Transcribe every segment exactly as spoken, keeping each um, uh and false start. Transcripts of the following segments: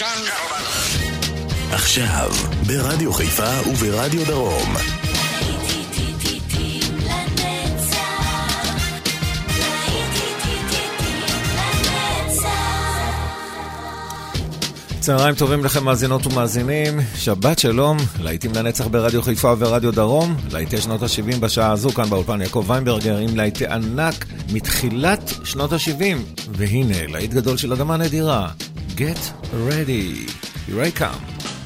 עכשיו, ברדיו חיפה וברדיו דרום. צהריים טובים לכם מאזינות ומאזינים, שבת שלום, להיטים לנצח ברדיו חיפה ורדיו דרום, להיטי שנות ה-שבעים בשעה הזו כאן באולפן יעקב ויינברגר עם להיטי ענק מתחילת שנות ה-שבעים, והנה להיט גדול של אדמה נדירה, Get Ready, Here I Come.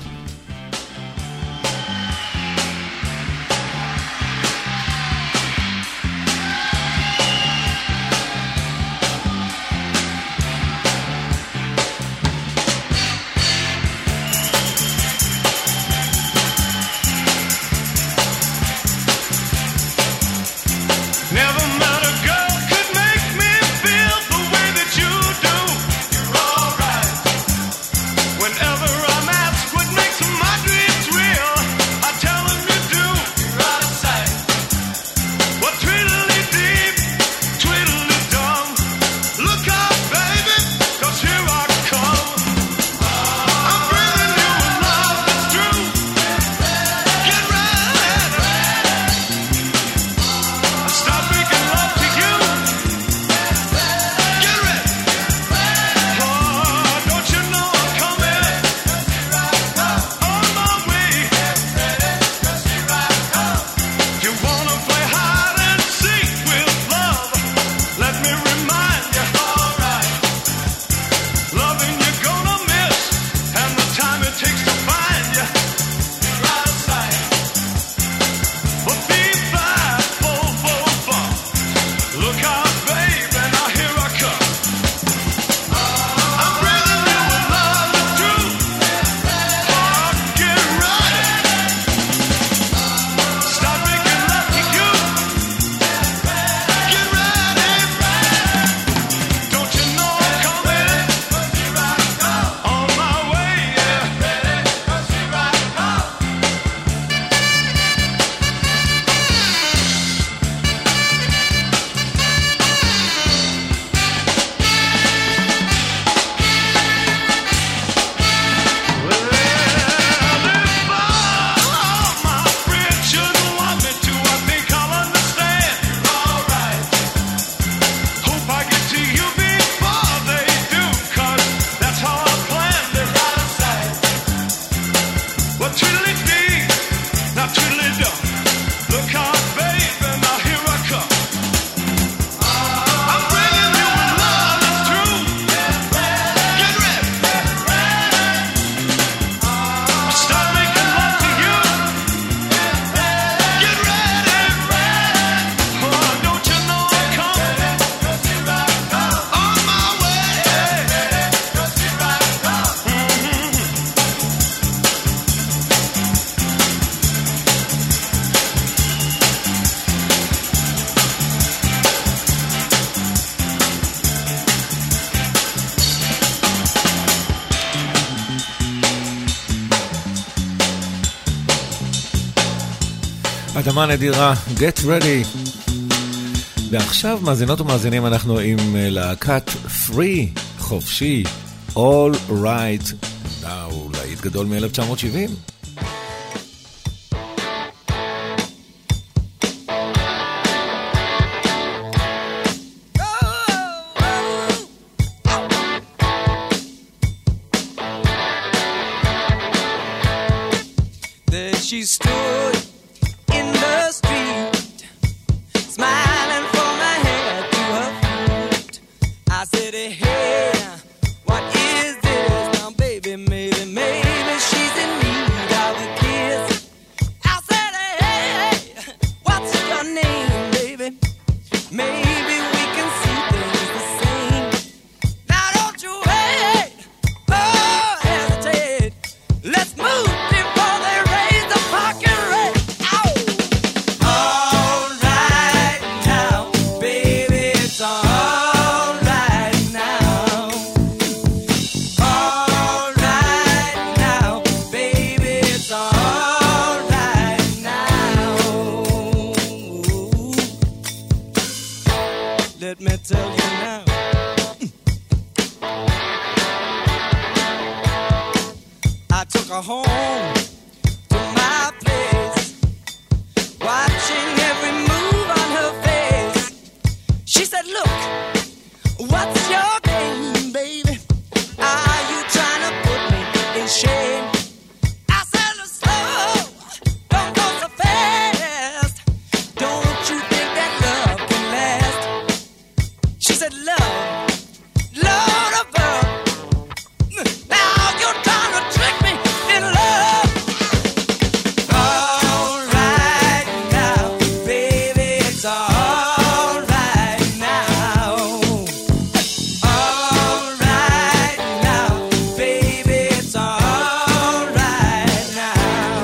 אדמה נדירה, Get Ready. ועכשיו מאזינות ומאזינים אנחנו עם להקת Free, חופשי, All Right Now, להיט גדול מ-אלף תשע מאות שבעים. There she stood in the street, smiling from her head to her feet. I said, hey, what is this? Now, baby, maybe, maybe she's in need of a kiss. I said, hey, what's your name, baby? Maybe we can see things the same. Now, don't you wait, oh, hesitate. Let's move before they raise the parking rate. home, to my place, watching every move on her face. She said, look, what's your game, baby? Are you trying to put me in shame? I said, slow, don't go so fast. Don't you think that love can last? She said, love, Lord above. Now you're trying to trick me in love. All right now, baby, it's all right now. All right now, baby, it's all right now.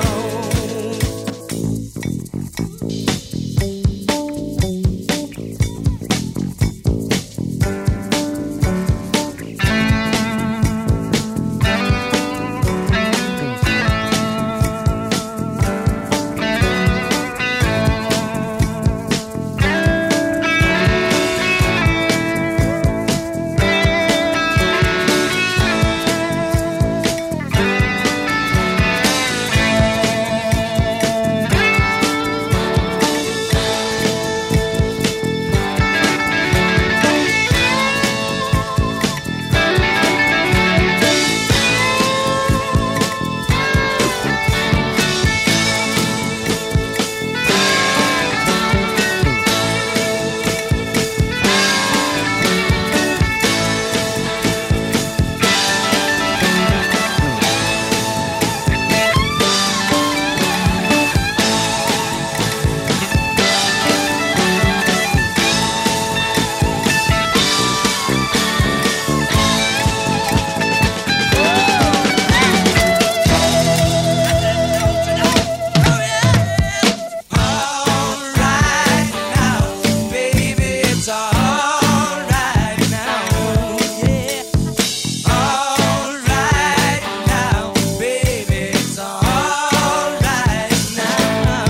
All right now, baby, it's all right now. Yeah. All right now, baby, it's all right now.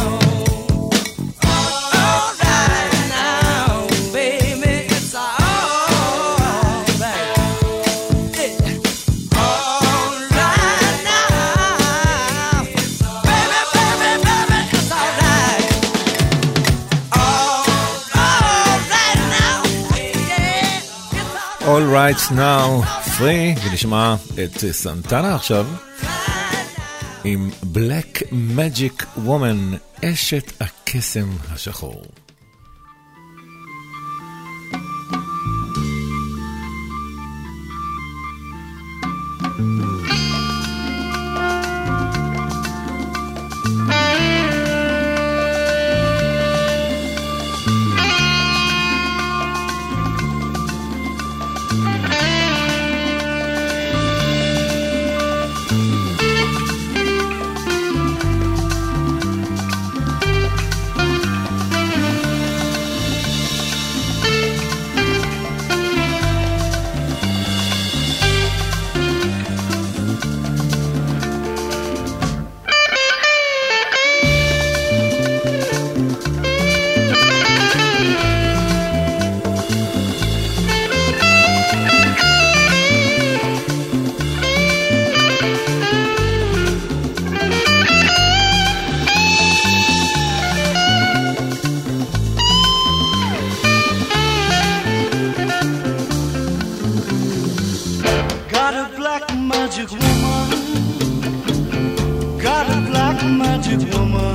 All right now, baby, it's all right. Yeah. All right now, baby, baby, baby, it's all right. All, all right now, yeah, it's all All Right Now, free, ונשמע את סנטנה עכשיו עם Black Magic Woman, אשת הקסם השחור. Got a black magic woman. Got a black magic woman.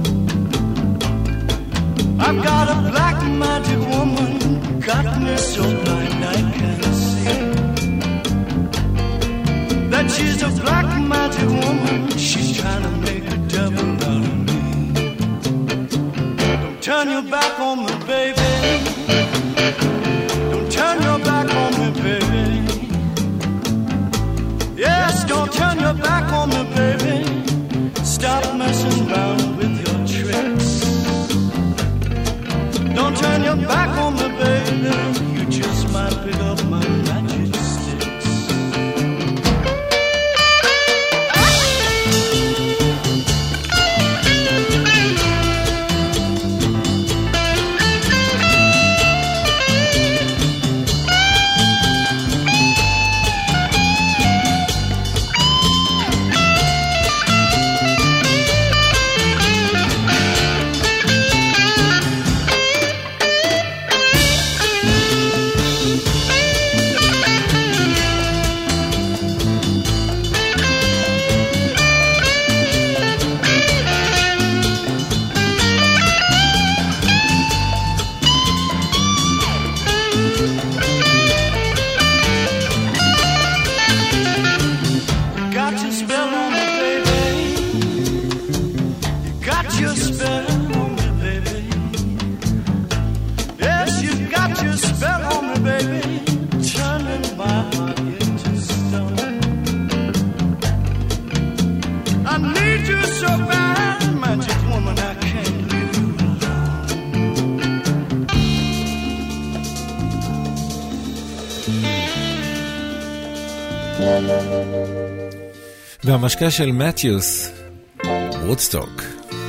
I've got a black magic woman. Got me so blind I can't see that she's a black magic woman. She's trying to make a devil out of me. Don't turn your back on me, baby. Don't turn your back on me, baby. Yes, don't turn your back on me, baby. Stop messing around with your tricks. Don't turn your back on me, baby. You just might pick up my magic sticks. והמשקה של מתיוס, וודסטוק.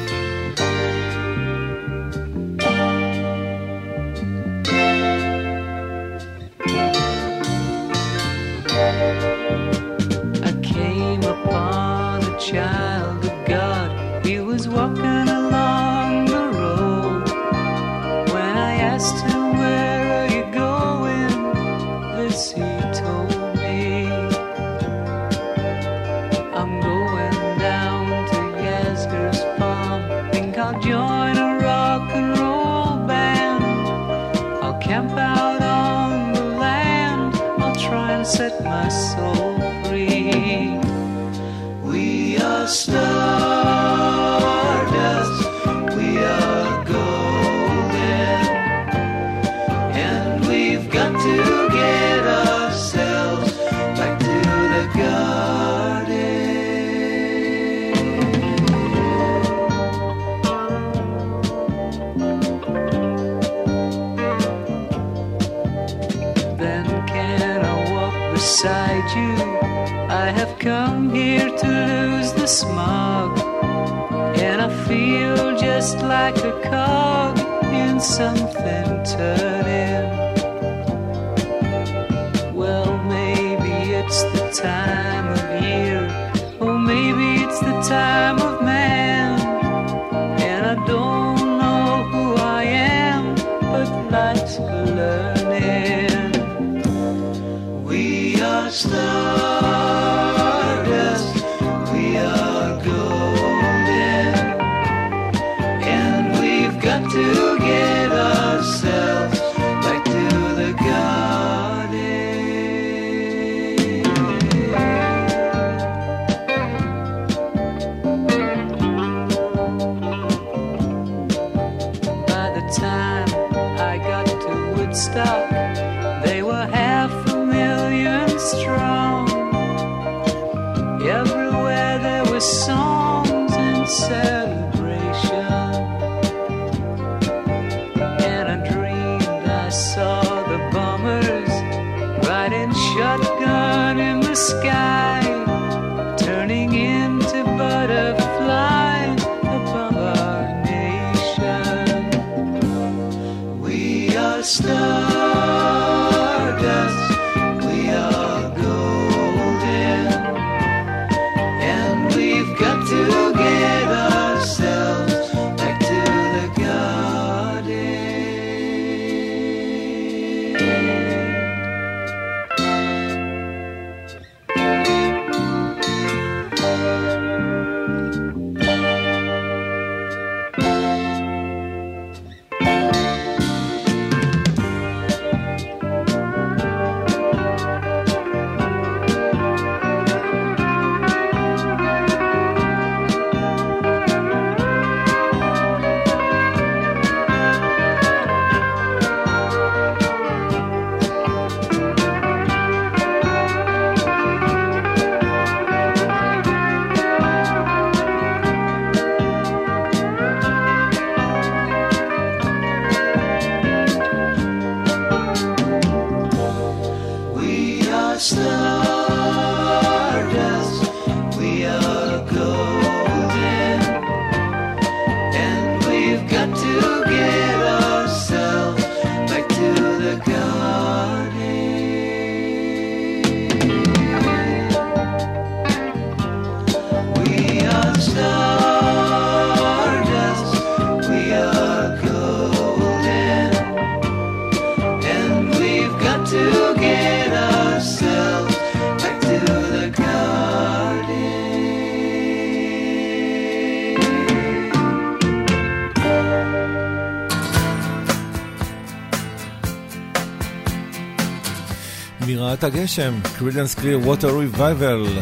מיראת הגשם, Creedence Clearwater Revival.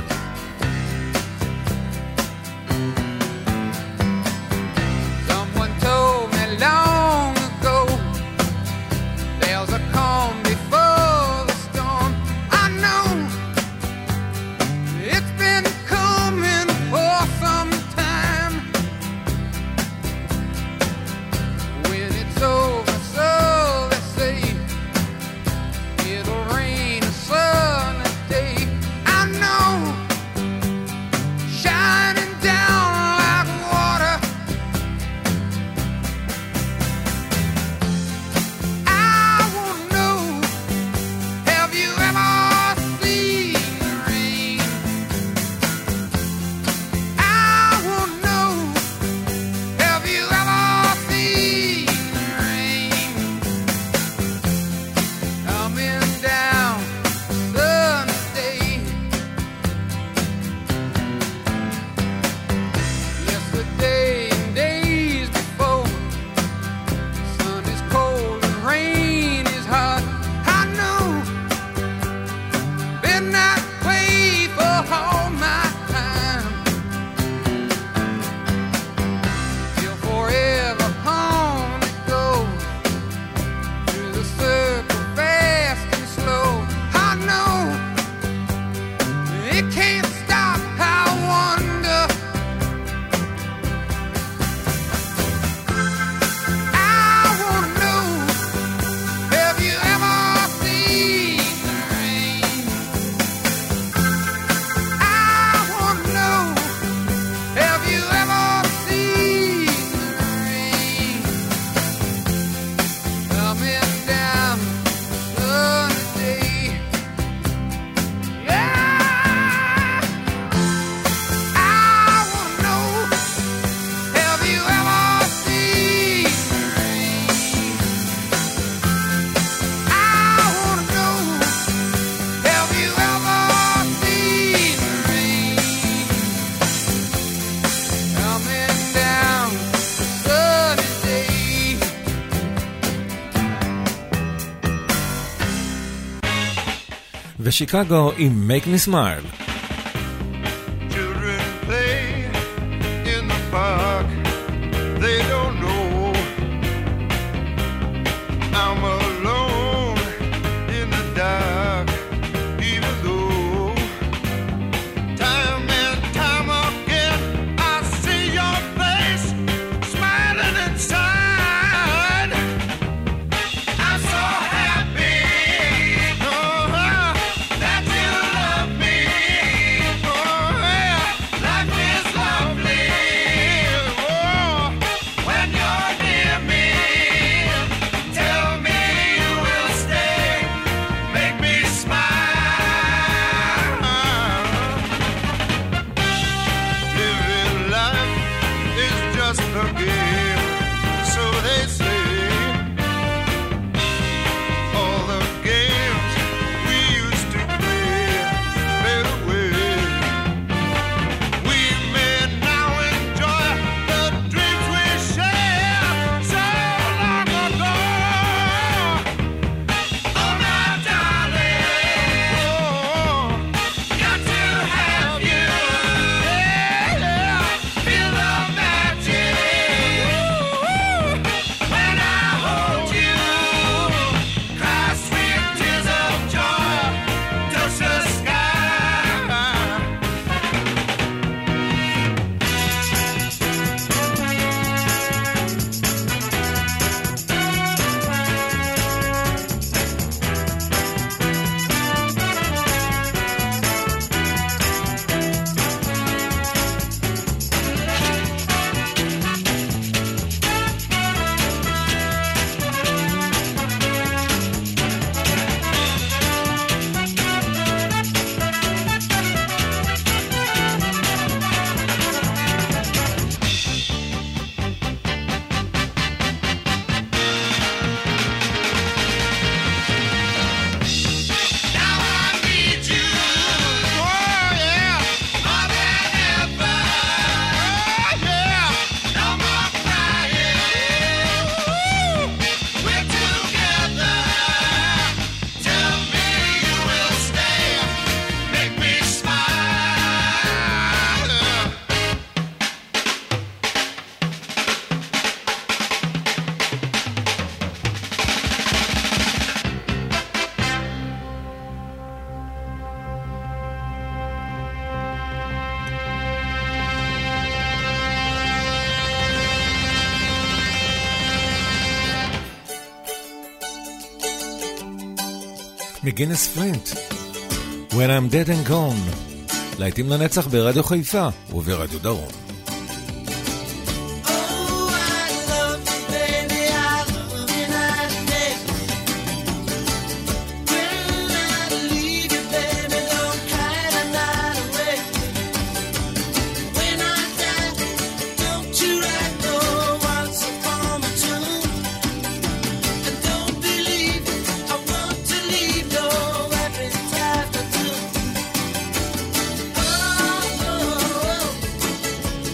I ושיקגו עם Make Me Smile. Children play in the park. They don't know I'm alone in the dark. Even though time and time again I see your face smiling inside. I'm so happy oh, that you love me. Oh, yeah. Life is lovely oh, when you're near me. Tell me you will stay, make me smile. Living life is just a game, so they say. All the games we used to play fade away. We may now enjoy the dreams we shared so long ago. Oh, my darling, oh, got to have you. Yeah, yeah. Feel the magic when I hold you. Cry sweet tears of joy, touch the sky. Now I need you, oh yeah, more than ever. Oh yeah, no more crying. We're together. Tell me you will stay, make me smile. מגינס פלינט, When I'm Dead and Gone, להיטים לנצח ברדיו חיפה וברדיו דרום. Oh, I love you, baby. I love you night and day. When I leave you, baby, don't cry the night away. When I die, don't you write no once upon my tomb. And don't believe I want to leave no epitaph or two. Oh, oh, oh.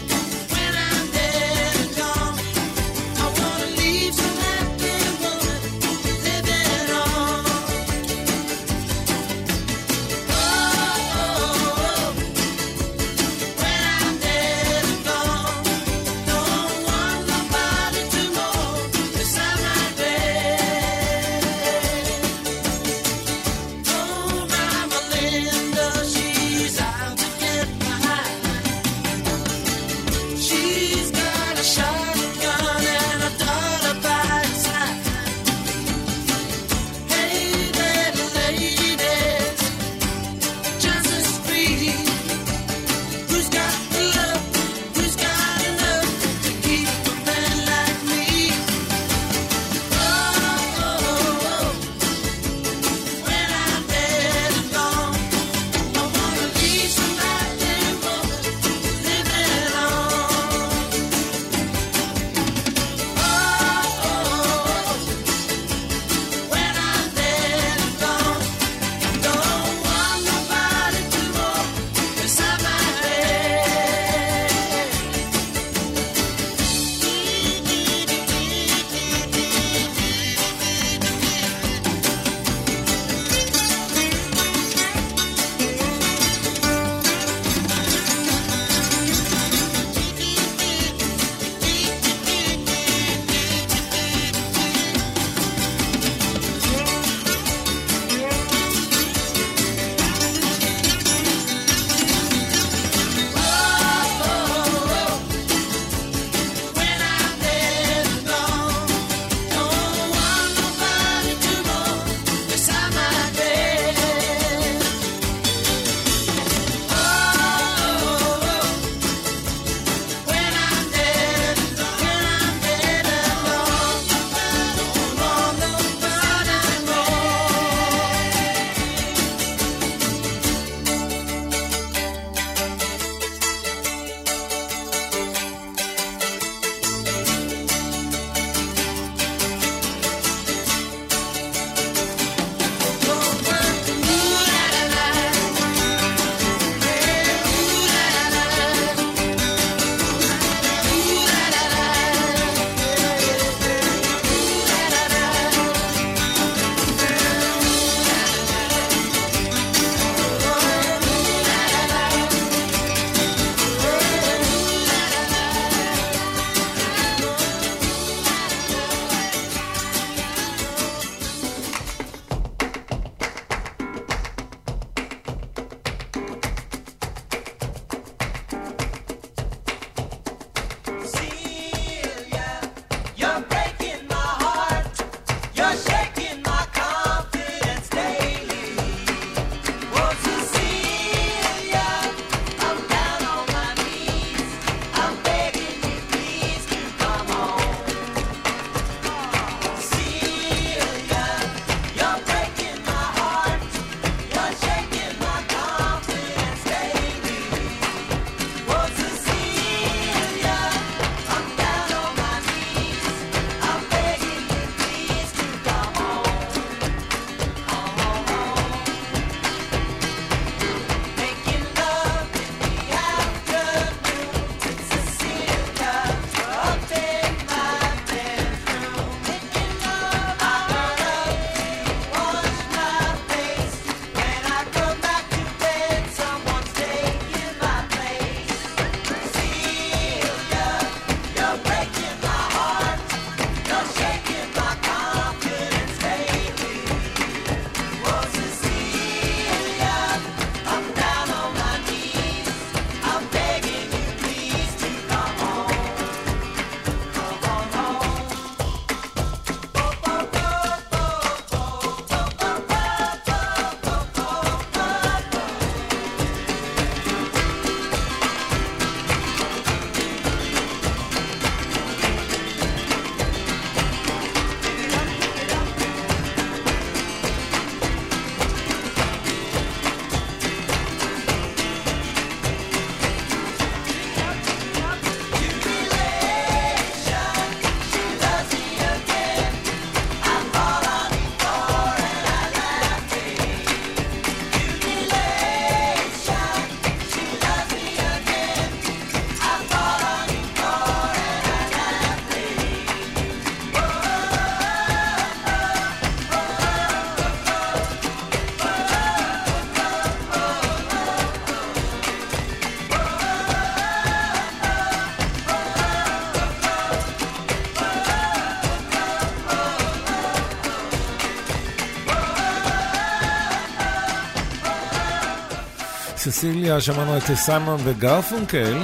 ססיליה שמענו את סיימון וגרפונקל,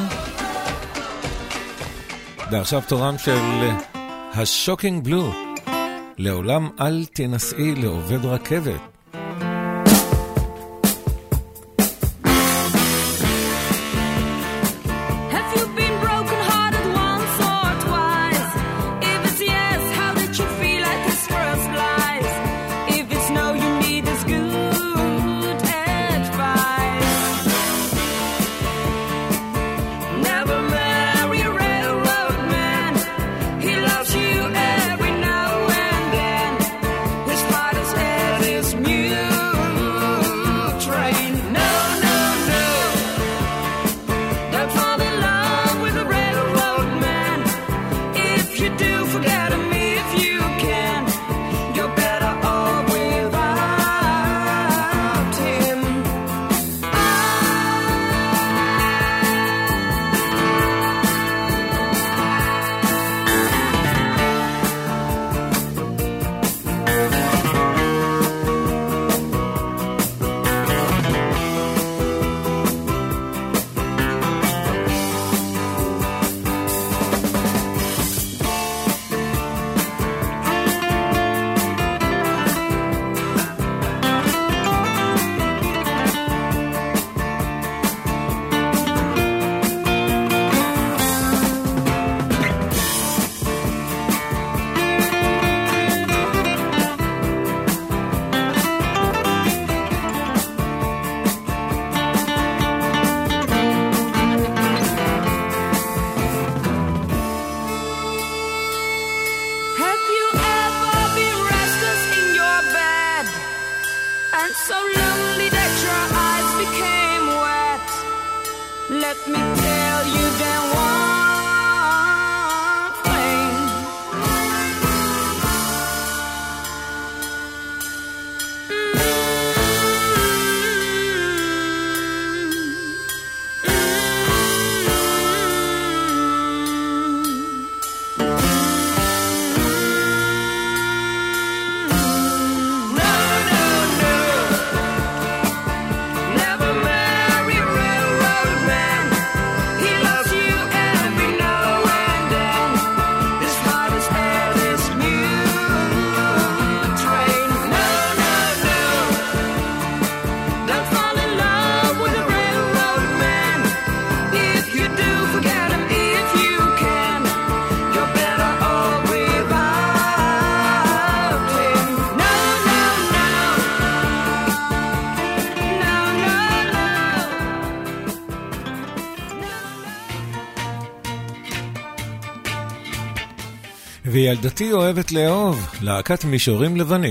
ועכשיו תורם של השוקינג בלו, לעולם אל תנסי לעובד רכבת. וילדתי אוהבת לאהוב, להקת מישורים לבנים.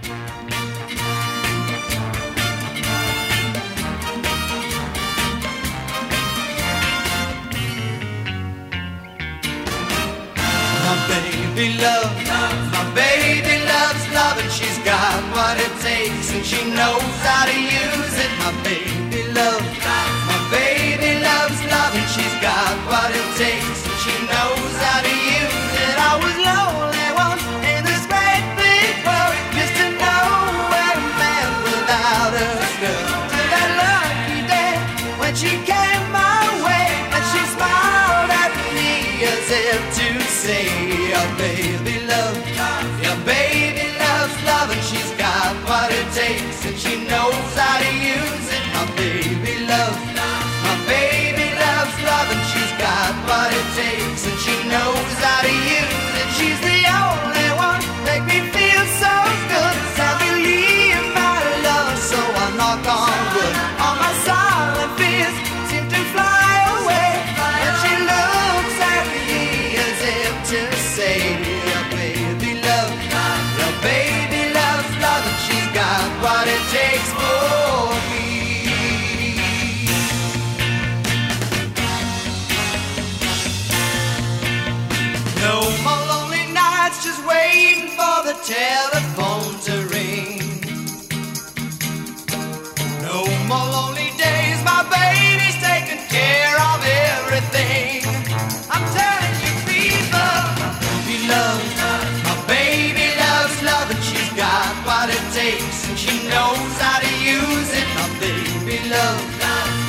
My baby love, my baby loves love, and she's got what it takes, and she knows how to use it. My baby love, my baby loves love, and she's got what it takes, and she knows how to use it. I was lonely once in this great big world, just to know where a man without a girl. Till that lucky day when she came my way, and she smiled at me as if to say, your baby love, your baby loves love, and she's got what it takes, and she knows how to use it. My baby love, my baby loves love, and she's got what it takes, and she knows how to use it. She's the only one make me feel so good. I believe my love, so I knock on wood. All my silent fears seem to fly away, and she looks at me as if to say, your baby love, your baby loves love, and she's got what it takes for me. No more lonely nights just waiting for the telephone to ring. No more lonely days, my baby's taking care of everything. I'm telling you people, baby love, my baby loves love, and she's got what it takes, and she knows how to use it. My baby love,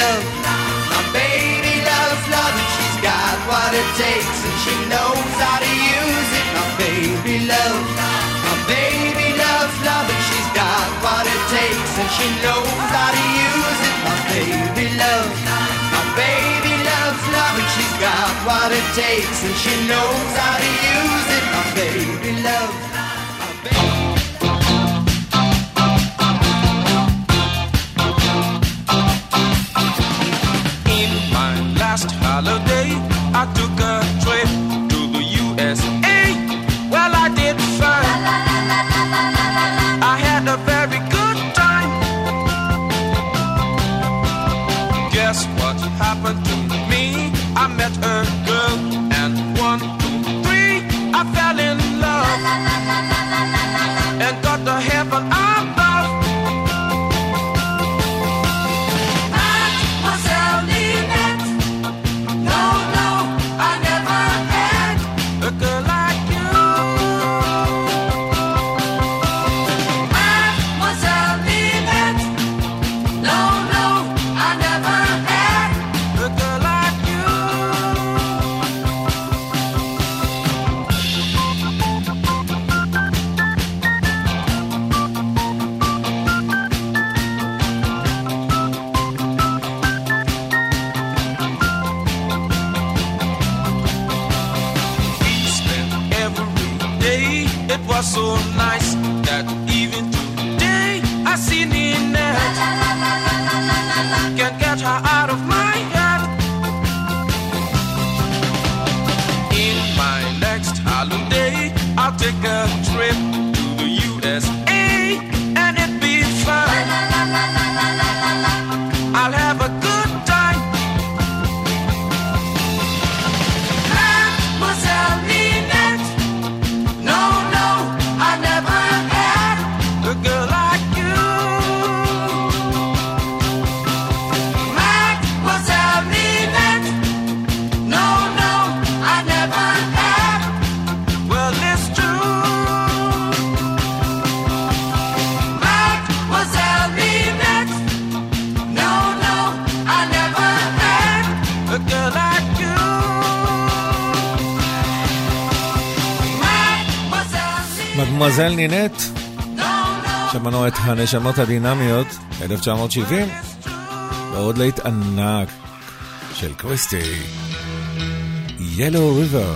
love. My baby loves love and she's got what it takes and she knows how to use it. My baby loves, my baby loves love and she's got what it takes and she knows how to use it. My baby loves, my baby loves love and she's got what it takes and she knows how to use it. My baby loves, my baby. In my last holiday, I took a trip to the U S A. Well, I did fine. I had a very good time. Guess what happened to me? I met a girl and one, two, three, I fell in love and got to heaven above. Mademoiselle Ninette, no, no, I never had A girl like you. Mademoiselle Ninette, no, no, I never had A girl like you. We spent every day. It was so nice that even today I see Ninette. Can't get her out of my head. In my next holiday, I'll take a trip to the U S A and it'll be fun. I'll have a good time. Mademoiselle Ninette, no, no, I never had A girl like you. Mademoiselle Ninette, no, no, I never had Well, it's true. Mademoiselle Ninette, no, no, I never had A girl like you. Mademoiselle מדמואזל נינט, no, no. שמענו את הנשמות הדינמיות, אלף תשע מאות שבעים, ועוד להיט ענק של קריסטי, Yellow River.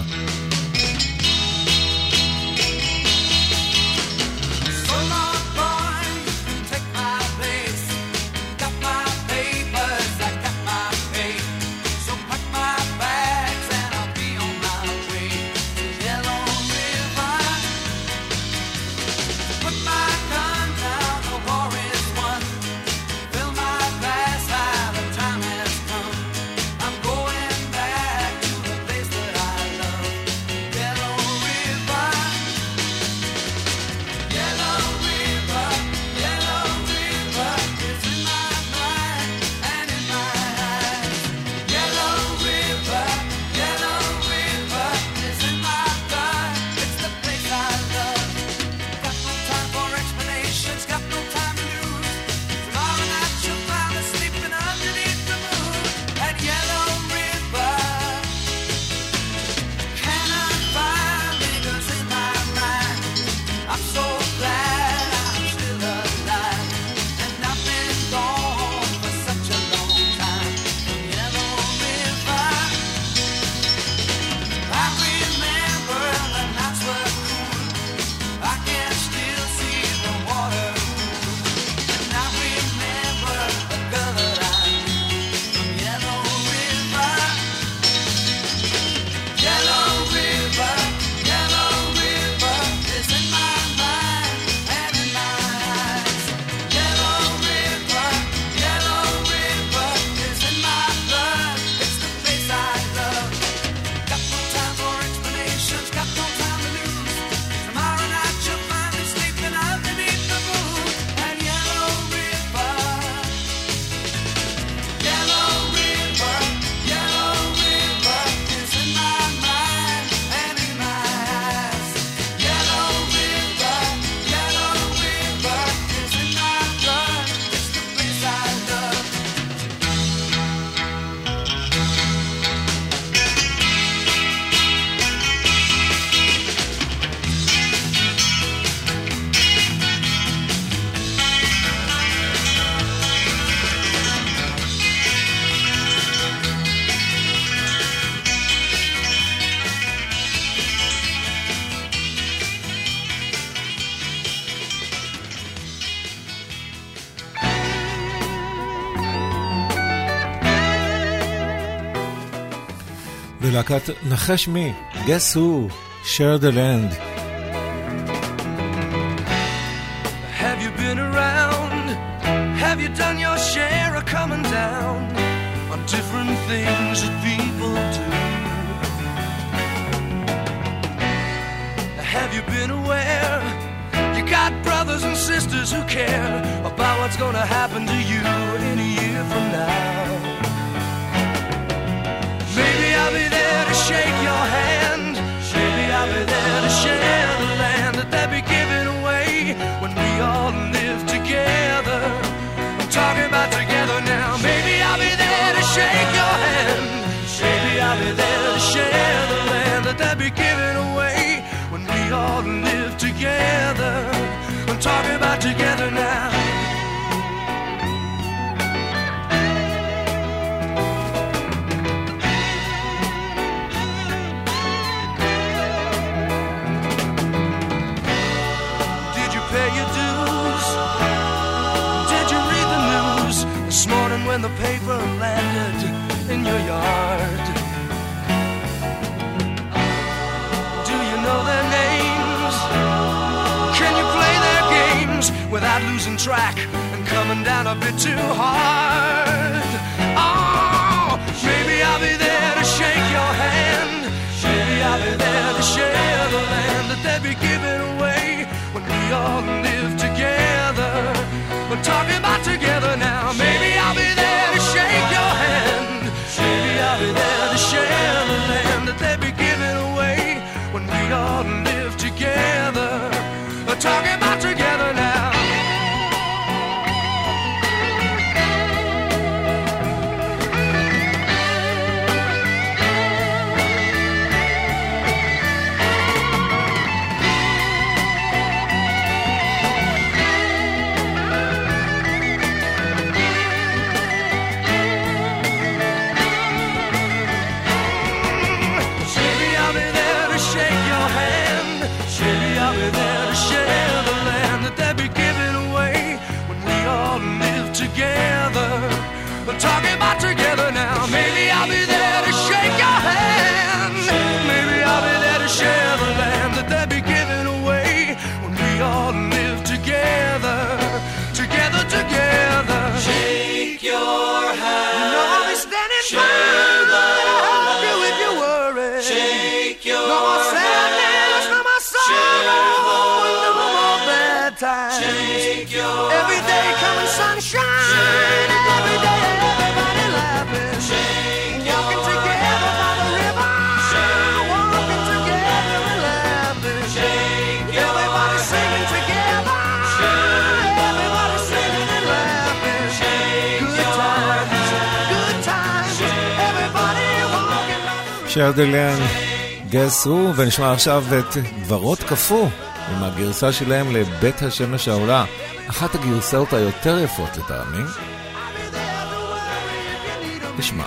So long, boy, take my place. Got my papers, I got my pay. So pack my bags and I'll be on my way to Yellow River. Put my gun down, the war is won. Fill my glass high, the time has come. I'm going back to the place that I love. מלהקת נחש מי, Guess Who, Share the Land. Have you been around? Have you done your share of coming down on different things that people do? Have you been aware? You got brothers and sisters who care about what's gonna happen to you in a year from now. Maybe I'll be there to shake your hand. Maybe I'll be there to share the land that they'll be giving away when we all live together. I'm talking about together now. Maybe I'll be there to shake your hand. Maybe I'll be there to share the land that they'll be giving away when we all live together. I'm talking about together now. Did you pay your dues? Did you read the news this morning when the paper landed in your yard? Do you know their names? Can you play their games without losing track and coming down a bit too hard? Oh, maybe I'll be there to shake your hand. Maybe I'll be there to share the land that they'll be giving away when we all live together. We're talking about together now. Maybe I'll be there to shake your hand. Maybe I'll be there to share the land that they'll be giving away when we all live together. We're talking about together now. Together, we're talking about together now. Maybe I'll be there to shake your hand. Maybe I'll be there to share the land that they'll be giving away when we all live together, together, together. Shake your hand. You know I'll be standing by to help you if you worry. Shake your no more sadness, no more sorrow, no more bad times. Shake your every day coming sunshine. Every day everybody laughing. Walking together by the river. Walking together and laughing. Everybody singing together. Everybody singing and laughing. Good times, good times. Everybody walking. Share the land, Guess Who, ונשמע עכשיו את דברות קפוא עם הגרסה שלהם לבית השמש העולה, אחת הגרסאות היותר יפות לטעמי. נשמע.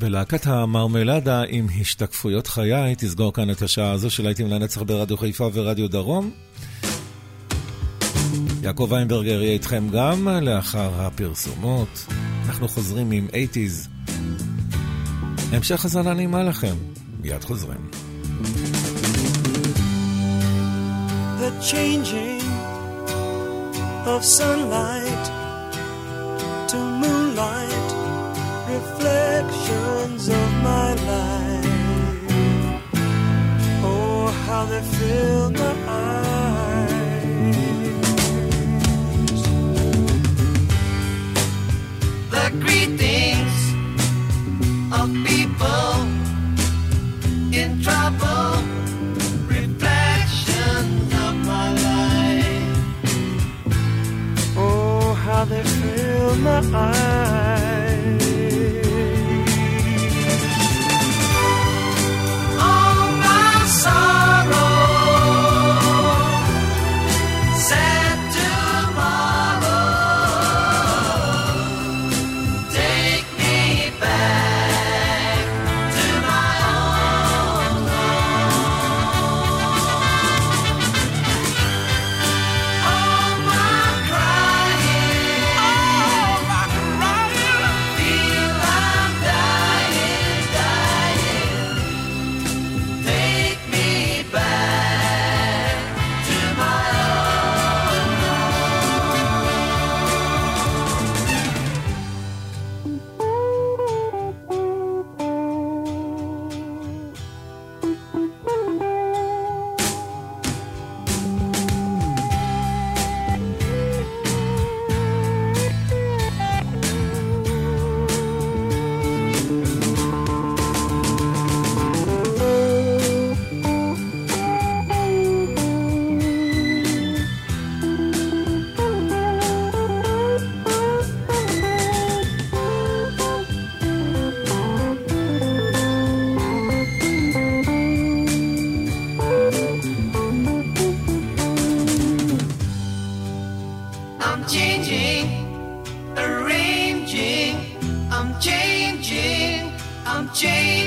ולהקת המרמלדה עם השתקפויות חיי תסגור כאן את השעה הזו של להיטים לנצח ברדיו חיפה ורדיו דרום. יעקב ויינברגר יהיה איתכם גם לאחר הפרסומות. אנחנו חוזרים עם שמונים. המשך הזנה נעימה לכם. מיד חוזרים. The changing of sunlight to moonlight, reflections of my life. Oh, how they fill my eyes. The greetings of people in trouble, reflections of my life. Oh, how they fill my eyes. All my sorrow, sad tomorrow, take me back to my own home. All my crying, all my crying, feel I'm dying, dying. Take me back to my own I'm changing, arranging, I'm changing, I'm changing.